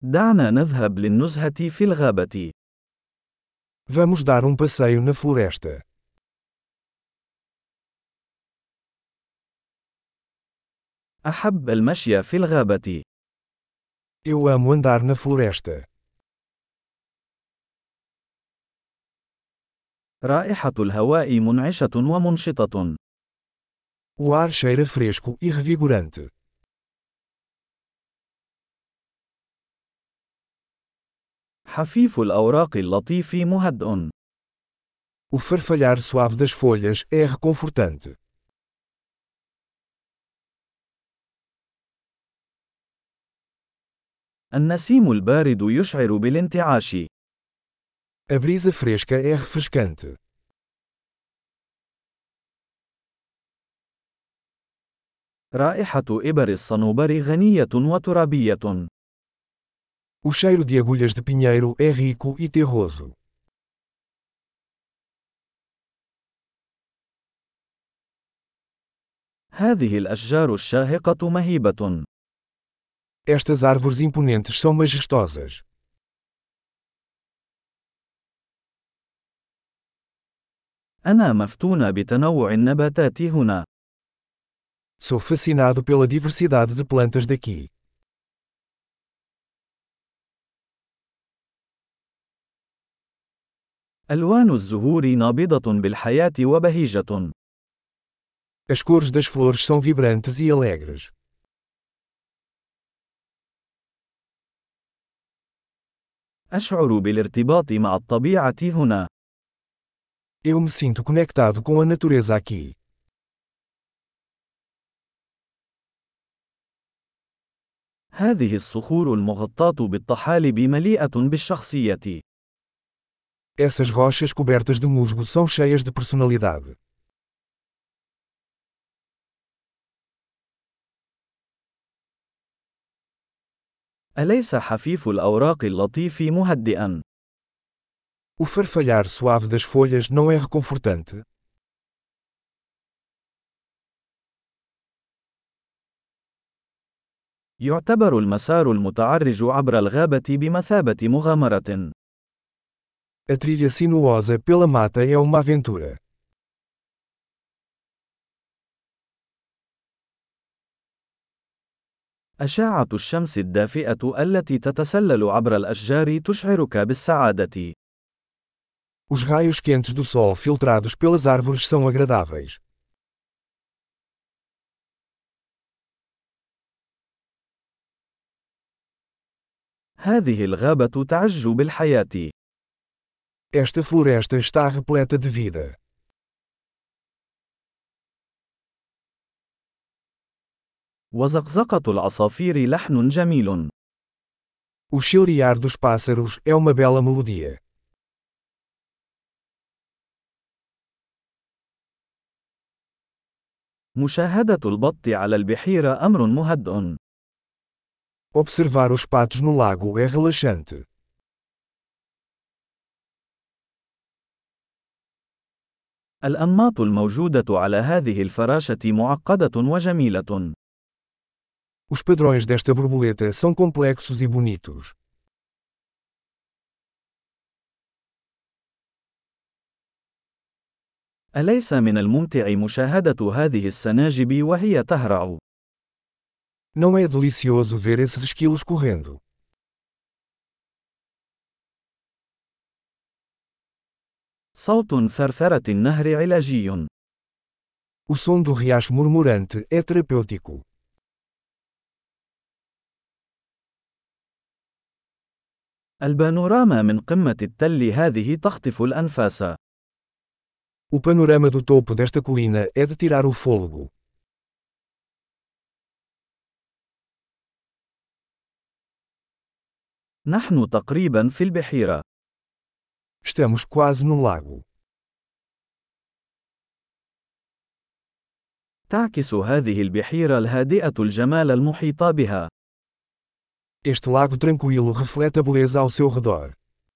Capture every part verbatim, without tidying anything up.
دعنا نذهب للنزهة في الغابة. Vamos dar um passeio na floresta. أحب المشي في الغابة. Eu amo andar na floresta. رائحة الهواء منعشة ومنشطة. O ar cheira fresco e revigorante. حفيف الأوراق اللطيف مهدئ. O farfalhar suave das folhas é reconfortante. النسيم البارد يشعر بالانتعاش. A brisa fresca é refrescante. رائحة إبر الصنوبر غنية وترابية. O cheiro de agulhas de pinheiro é rico e terroso. هذه الأشجار الشاهقة مهيبة. Estas árvores imponentes são majestosas. أنا مفتون بتنوع النباتات هنا. Sou fascinado pela diversidade de plantas daqui. ألوان الزهور نابضة بالحياة وبهيجة. As cores das flores são vibrantes e alegres. أشعر بالارتباط مع الطبيعة هنا. Eu me sinto conectado com a natureza aqui. هذه الصخور المغطاة بالطحالب مليئة بالشخصية. Essas rochas cobertas de musgo são cheias de personalidade. أليس حفيف الأوراق اللطيف مهدئا؟ O farfalhar suave das folhas não é reconfortante? يعتبر المسار المتعرج عبر الغابة بمثابة مغامرة. A trilha sinuosa pela mata é uma aventura. أشعة الشمس الدافئة التي تتسلل عبر الأشجار تشعرك بالسعادة. Os raios quentes do sol filtrados pelas árvores são agradáveis. هذه الغابة تعج بالحياة. Esta floresta está repleta de vida. وزقزقة العصافير لحن جميل. O chilrear dos pássaros é uma bela melodia. مشاهدة البط على البحيرة أمر مهدئ. Observar os patos no lago é relaxante. الأنماط الموجودة على هذه الفراشة معقدة وجميلة. Os padrões desta borboleta são complexos e bonitos. أليس من الممتع مشاهدة هذه السناجب وهي تهرع؟ Não é delicioso ver esses esquilos correndo? صوت ثرثرة النهر علاجي. O som do riacho murmurante é terapêutico. البانوراما من قمة التل هذه تخطف الأنفاس. O panorama do topo desta colina é de tirar o fôlego. نحن تقريبا في البحيرة. Estamos quase no lago. تعكس هذه البحيرة الهادئة الجمال المحيط بها. Este lago tranquilo reflete a beleza ao seu redor.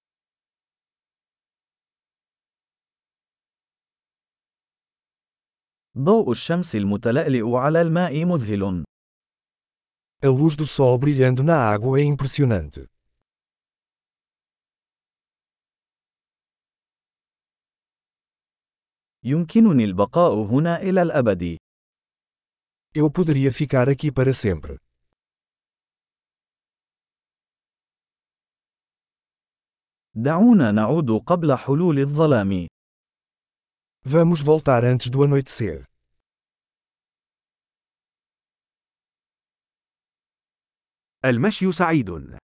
ضوء الشمس المتلألئ على الماء مذهل. A luz do sol brilhando na água é impressionante. يمكنني البقاء هنا إلى الأبد. Eu poderia ficar aqui para sempre. دعونا نعود قبل حلول الظلام. Vamos voltar antes do anoitecer. المشي سعيد.